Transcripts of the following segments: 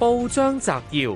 報章摘要：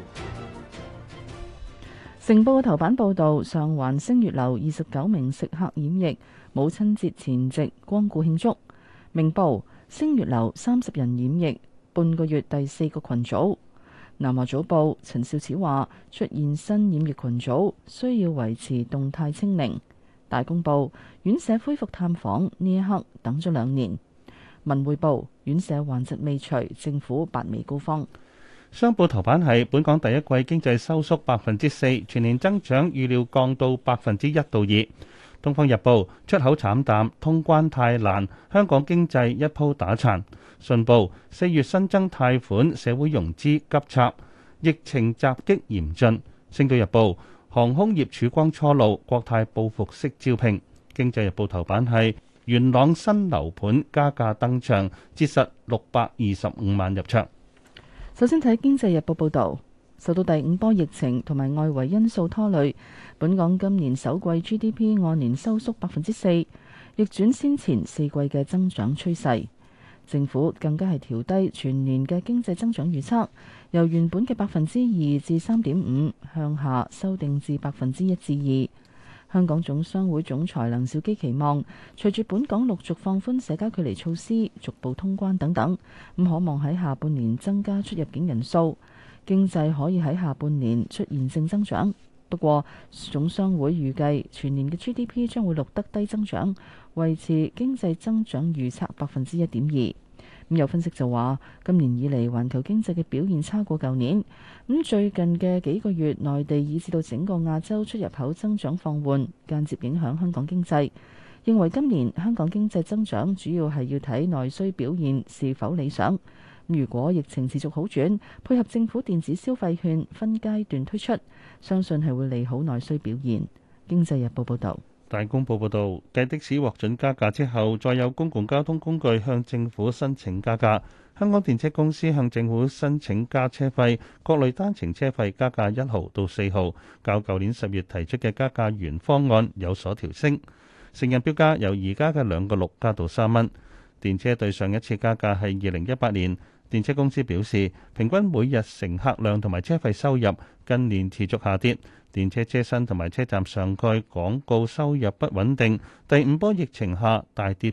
成報嘅頭版報導，上環星月樓29名食客染疫，母親節前夕光顧慶祝。明報星月樓30人染疫，半個月第4個群組。南華早報陳肇始話，出現新染疫群組，需要維持動態清零。大公報院舍恢復探訪，呢一刻等咗2年。文匯報院舍患疾未除，政府拔眉高方。 商報頭版係本港第一季經濟收縮4%，全年增長預料降到1%到2%。東方日報出口慘淡，通關太難，香港經濟一鋪打殘。信報4月新增貸款，社會融資急插，疫情襲擊嚴峻。星島日報航空業曙光初露，國泰報復式招聘。經濟日報頭版係元朗新樓盤加價登場，折實625萬入場。 首先睇經濟日報報導，受到第5波疫情同埋外圍因素拖累，本港今年首季 GDP 按年收縮4%，逆轉先前4季嘅增長趨勢。政府更加係調低全年嘅經濟增長預測，由原本嘅2%至3.5%向下修訂至1%至2%。香港總商會總裁梁兆基期望，隨住本港陸續放寬社交距離措施、逐步通關等等，咁可望喺下半年增加出入境人數，經濟可以喺下半年出現正增長。不過，總商會預計全年嘅 GDP 將會錄得低增長，維持經濟增長預測1.2%。咁有分析就話，今年以嚟環球經濟嘅表現差過舊年。咁最近嘅幾個月，內地以至到整個亞洲出入口增長放緩，間接影響香港經濟。認為今年香港經濟增長主要係要睇內需表現是否理想。如果疫情持續好轉，配合政府電子消費券分階段推出，相信係會利好內需表現。經濟日報報導。 大公報報導，繼的士獲准加價之後，再有公共交通工具向政府申請加價。香港電車公司向政府申請加車費，各類單程車費加價1毫到4毫，較舊年10月提出嘅加價原方案有所調升。成人標價由而家嘅2個6加到3蚊。電車對上一次加價係2018年。電車公司表示，平均每日乘客量同埋車費收入近年持續下跌，電車車身同埋車站上蓋廣告收入不穩定，第5波疫情下大跌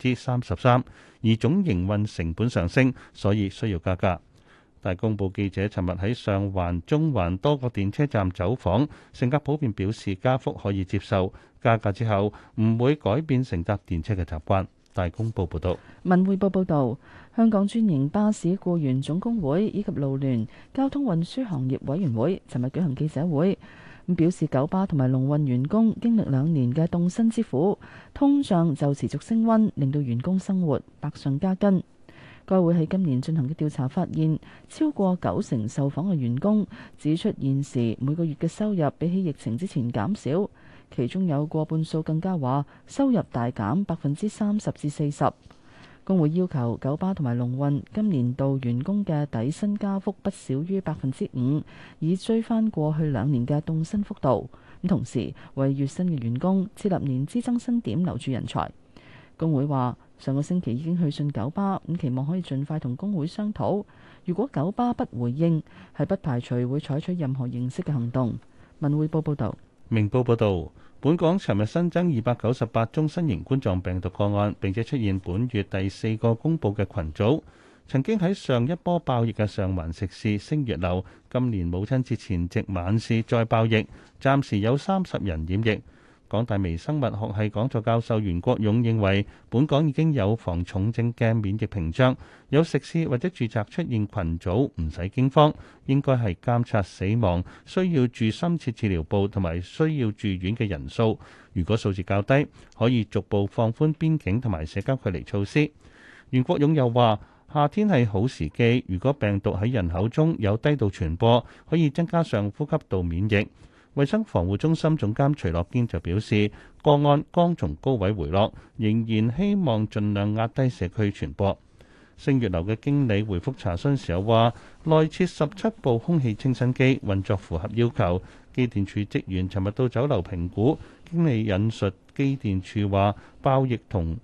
33%，而總營運成本上升，所以需要加價。大公報記者尋日喺上環、中環多個電車站走訪，乘客普遍表示加幅可以接受，加價之後唔會改變乘搭電車嘅習慣。大公報報導。 文匯報報導，香港專營巴士僱員總工會以及勞聯交通運輸行業委員會尋日舉行記者會，咁表示九巴同埋龍運員工經歷2年嘅凍薪之苦，通脹就持續升溫，令到員工生活百上加斤。該會喺今年進行嘅調查發現，超過90%受訪嘅員工指出現時每個月嘅收入比起疫情之前減少。其中有過半數更加話收入大減30%至40%。工會要求九巴同埋龍運今年度員工嘅底薪加幅不少於5%，以追翻過去2年嘅凍薪幅度。咁同時為月薪嘅員工設立年資增薪點，留住人才。工會話上個星期已經去信九巴，咁期望可以盡快同工會商討。如果九巴不回應，係不排除會採取任何形式嘅行動。文匯報報導。 明報報導，本港尋日新增298宗新型冠狀病毒個案，並且出現本月第4個公佈嘅群組。曾經喺上一波爆疫嘅上環食肆星月樓，今年母親節前夕晚市再爆疫，暫時有30人染疫。港大微生物學系講座教授袁國勇認為，本港已經有防重症嘅免疫屏障，有食肆或者住宅出現群組唔使驚慌，應該係監察死亡、需要住深切治療部同埋需要住院嘅人數。如果數字較低，可以逐步放寬邊境同埋社交距離措施。袁國勇又話，夏天係好時機，如果病毒喺人口中有低度傳播，可以增加上呼吸道免疫。衛生防護中心總監徐樂堅就表示，個案剛從高位回落，仍然希望盡量壓低社區傳播。星月樓嘅經理回覆查詢時候話，內設17部空氣清新機，運作符合要求。機電署職員尋日到酒樓評估，經理引述機電署話，爆疫同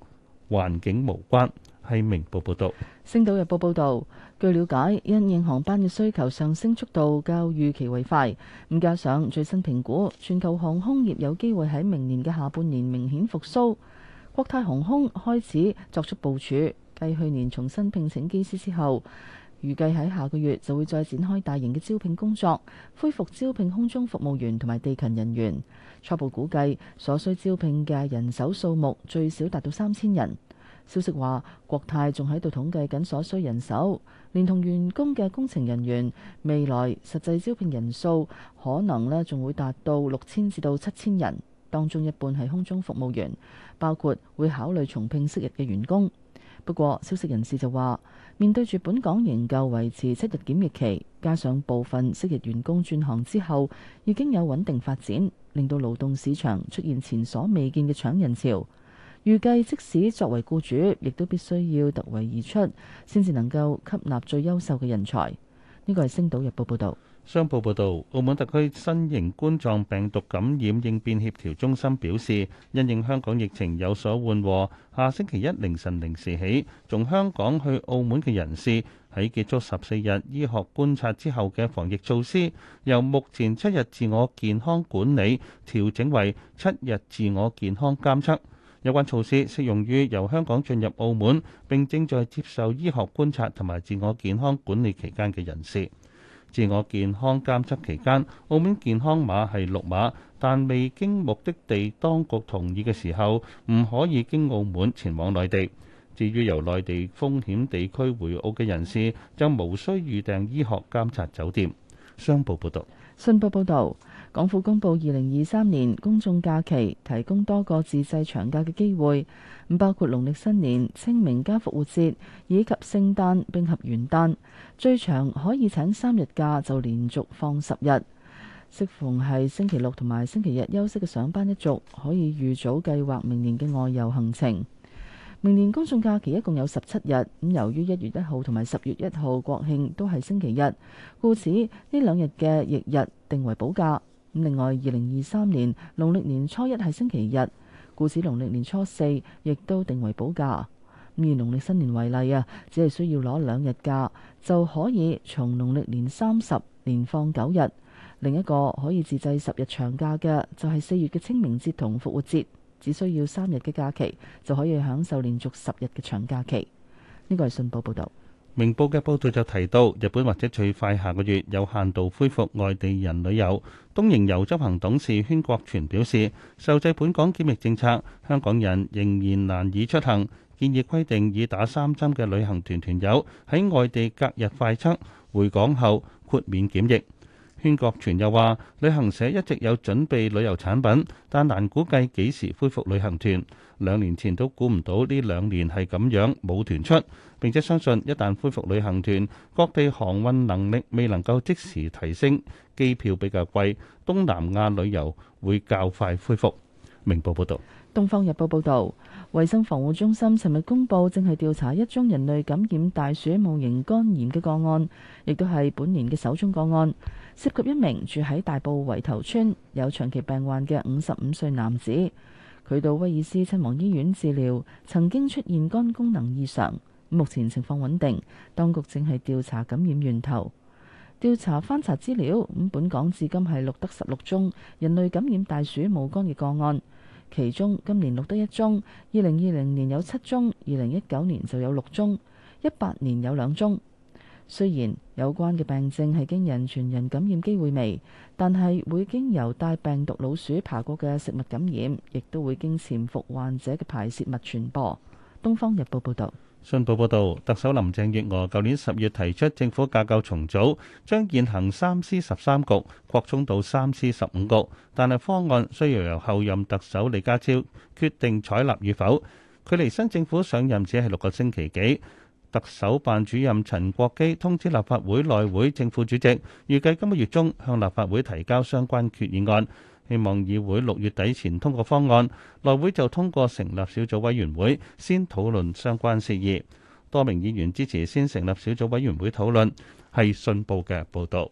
環境無關。係明報報導。 星島日報報導，據了解，因應航班嘅需求上升速度較預期為快，咁加上最新評估，全球航空業有機會喺明年嘅下半年明顯復甦。國泰航空開始作出部署，繼去年重新聘請機師之後，預計喺下個月就會再展開大型嘅招聘工作，恢復招聘空中服務員同埋地勤人員。初步估計所需招聘嘅人手數目最少達到3000人。消息話，國泰仲喺度統計緊所需人手，連同員工嘅工程人員，未來實際招聘人數可能呢仲會達到6000至到7000人，當中一半係空中服務員，包括會考慮重聘昔日嘅員工。不過，消息人士就話，面對住本港仍舊維持7日檢疫期，加上部分昔日員工轉行之後已經有穩定發展，令到勞動市場出現前所未見嘅搶人潮。預計即使作為僱主，亦都必須要突圍而出，先至能夠吸納最優秀嘅人才。呢個係《星島日報》報導。 商報報導，澳門特區新型冠狀病毒感染應變協調中心表示，因應香港疫情有所緩和，下星期一凌晨0時起，從香港去澳門嘅人士喺結束14日醫學觀察之後嘅防疫措施，由目前7日自我健康管理調整為7日自我健康監測。有關措施適用於由香港進入澳門並正在接受醫學觀察同埋自我健康管理期間嘅人士。自我健康監測期間，澳門健康碼係綠碼，但未經目的地當局同意嘅時候，唔可以經澳門前往內地。至於由內地風險地區回澳嘅人士，就無需預訂醫學監察酒店。商報報導。 信報報導，港府公布2023年公眾假期提供多個自製長假嘅機會，咁包括農曆新年、清明加復活節以及聖誕並合元旦，最長可以請3日假就連續放10日。適逢係星期六同埋星期日休息嘅上班一族，可以預早計劃明年嘅外遊行程。明年公眾假期一共有17日，咁由於1月1號同埋10月1號國慶都係星期日，故此呢2日嘅翌日定為補假。咁另外，2023年農曆年初一係星期日，故此農曆年初4亦都定為補假。咁以農曆新年為例啊，只係需要攞2日假就可以從農曆年30連放9日。另一個可以自製10日長假嘅就係4月嘅清明節同復活節。只需要3日嘅假期就可以享受連續10日嘅長假期。呢個係信報報導。 明報嘅報導就提到，日本或者最快下個月有限度恢復外地人旅遊。東瀛遊執行董事禤國全表示，受制本港檢疫政策，香港人仍然難以出行，建議規定已打3針嘅旅行團團友喺外地隔日快測，回港後豁免檢疫。禤國全又話，旅行社一直有準備旅遊產品，但難估計幾時恢復旅行團。2年前都估唔到呢2年係咁樣冇團出，並且相信一旦恢復旅行團，各地航運能力未能夠即時提升，機票比較貴，東南亞旅遊會較快恢復。明報報導。 《東方日報》報導，衛生防護中心尋日公佈，正係調查一宗人類感染大鼠戊型肝炎嘅個案，亦都係本年嘅首宗個案，涉及一名住喺大埔圍頭村有長期病患嘅55歲男子。佢到威爾斯親王醫院治療，曾經出現肝功能異常，目前情況穩定。當局正係調查感染源頭。翻查資料，本港至今係錄得16宗人類感染大鼠戊肝嘅個案。其中今年錄得1宗，2020年有7宗，2019年就有6宗，18年有2宗。雖然有關嘅病症係經人傳人感染機會微，但係會經由帶病毒老鼠爬過嘅食物感染，亦都會經潛伏患者嘅排泄物傳播。《東方日報》報導。 信報報導，特首林鄭月娥舊年10月提出政府架構重組，將現行3司13局擴充到3司15局，但係方案需要由後任特首李家超決定採納與否。距離新政府上任只係6個星期幾。特首辦主任陳國基通知立法會內會正副主席，預計今個月中向立法會提交相關決議案。希望議會6月底前通過方案，內會就通過成立小組委員會，先討論相關事宜。多名議員支持先成立小組委員會討論，係信報嘅報導。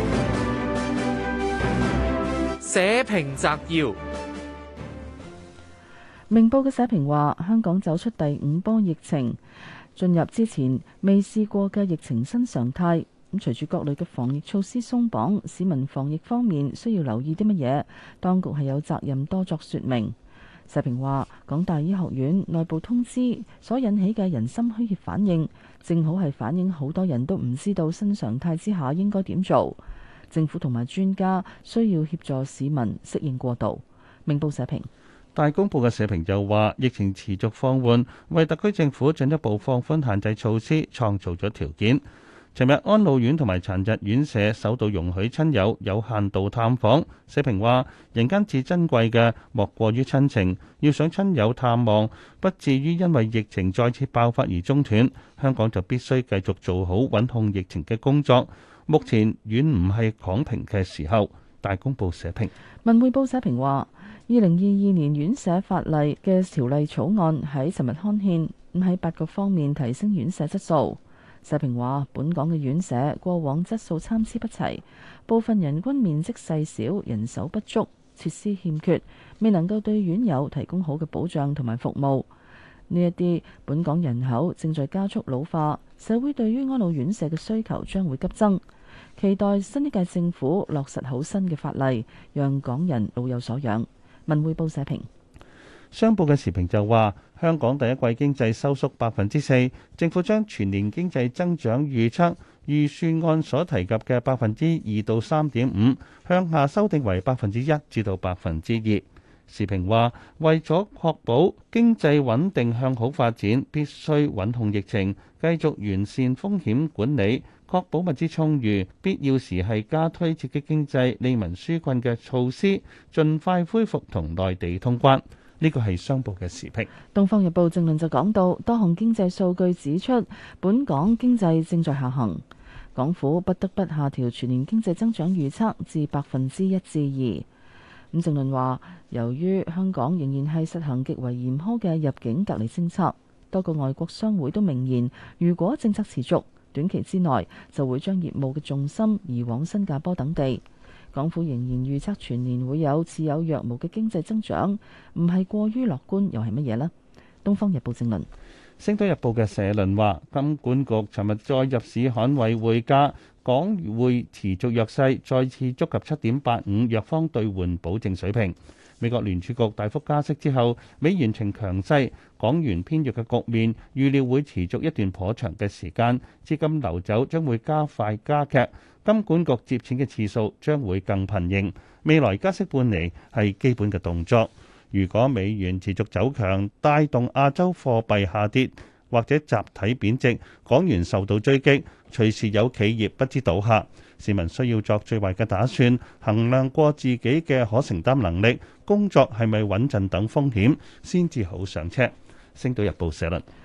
社評摘要。 明報嘅社評話，香港走出第五波疫情，進入之前未試過嘅疫情新常態。咁隨住各類嘅防疫措施鬆綁，市民防疫方面需要留意啲乜嘢？當局係有責任多作説明。社評話，港大醫學院內部通知所引起嘅人心虛怯反應，正好係反映好多人都唔知道新常態之下應該點做。政府同埋專家需要協助市民適應過渡。明報社評。 大公報嘅社評就話，疫情持續放緩，為特區政府進一步放寬限制措施創造咗條件。尋日安老院同埋殘疾院舍首度容許親友有限度探訪。社評話，人間至珍貴嘅莫過於親情，要想親友探望，不至於因為疫情再次爆發而中斷，香港就必須繼續做好穩控疫情嘅工作。目前遠唔係躺平嘅時候。大公報社評。 文匯報社評話，2022年院舍法例嘅條例草案喺尋日刊憲，咁喺8個方面提升院舍質素。社評話，本港嘅院舍過往質素參差不齊，部分人均面積細小，人手不足，設施欠缺，未能夠對院友提供好嘅保障同埋服務。呢一啲本港人口正在加速老化，社會對於安老院舍嘅需求將會急增。期待新一屆政府落實好新嘅法例，讓港人老有所養。文匯報社評。 商報嘅時評就話，香港第一季經濟收縮4%，政府將全年經濟增長預算案所提及嘅2%到3.5%向下修訂為1%至到2%。時評話，為咗確保經濟穩定向好發展，必須穩控疫情，繼續完善風險管理，確保物資充裕，必要時係加推刺激經濟、利民紓困嘅措施，盡快恢復同內地通關。呢個係商報嘅時評。《 東方日報》正論就講到，多項經濟數據指出，本港經濟正在下行，港府不得不下調全年經濟增長預測至1%至2%。咁正論話，由於香港仍然係實行極為嚴苛嘅入境隔離政策，多個外國商會都明言，如果政策持續，短期之內就會將業務嘅重心移往新加坡等地。港府仍然預測全年會有似有若無嘅經濟增長，唔係過於樂觀又係乜嘢呢？《東方日報》正論。《 星島日報》嘅社論話，金管局尋日再入市捍衛匯價，港匯持續弱勢，再次觸及7.85弱方兌換保證水平。美國聯儲局大幅加息之後，美元呈強勢，港元偏弱嘅局面預料會持續一段頗長嘅時間，資金流走將會加快加劇，金管局接錢嘅次數將會更頻仍。未來加息半釐係基本嘅動作。如果美元持續走強，帶動亞洲貨幣下跌或者集體貶值，港元受到追擊，隨時有企業不知倒下。市民需要作最壞嘅打算，衡量過自己嘅可承擔能力，工作係咪穩陣等風險，先至好上車。星島日報社論。